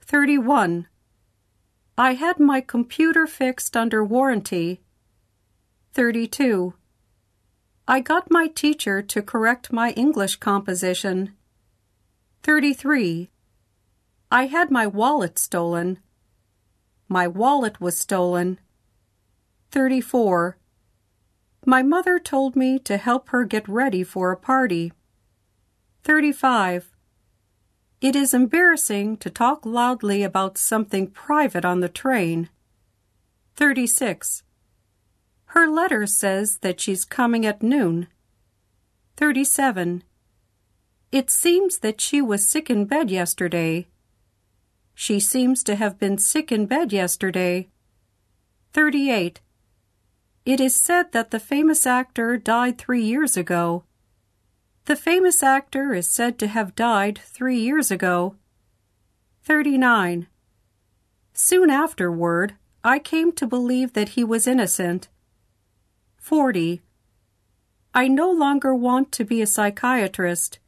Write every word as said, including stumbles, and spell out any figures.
thirty-one. I had my computer fixed under warranty. thirty-two. I got my teacher to correct my English composition. thirty-three. I had my wallet stolen. My wallet was stolen. thirty-four. My mother told me to help her get ready for a party. thirty-five. It is embarrassing to talk loudly about something private on the train. thirty-six. Her letter says that she's coming at noon. thirty-seven. It seems that she was sick in bed yesterday. She seems to have been sick in bed yesterday. thirty-eight. It is said that the famous actor died three years ago. The famous actor is said to have died three years ago. thirty-nine. Soon afterward, I came to believe that he was innocent. forty. I no longer want to be a psychiatrist.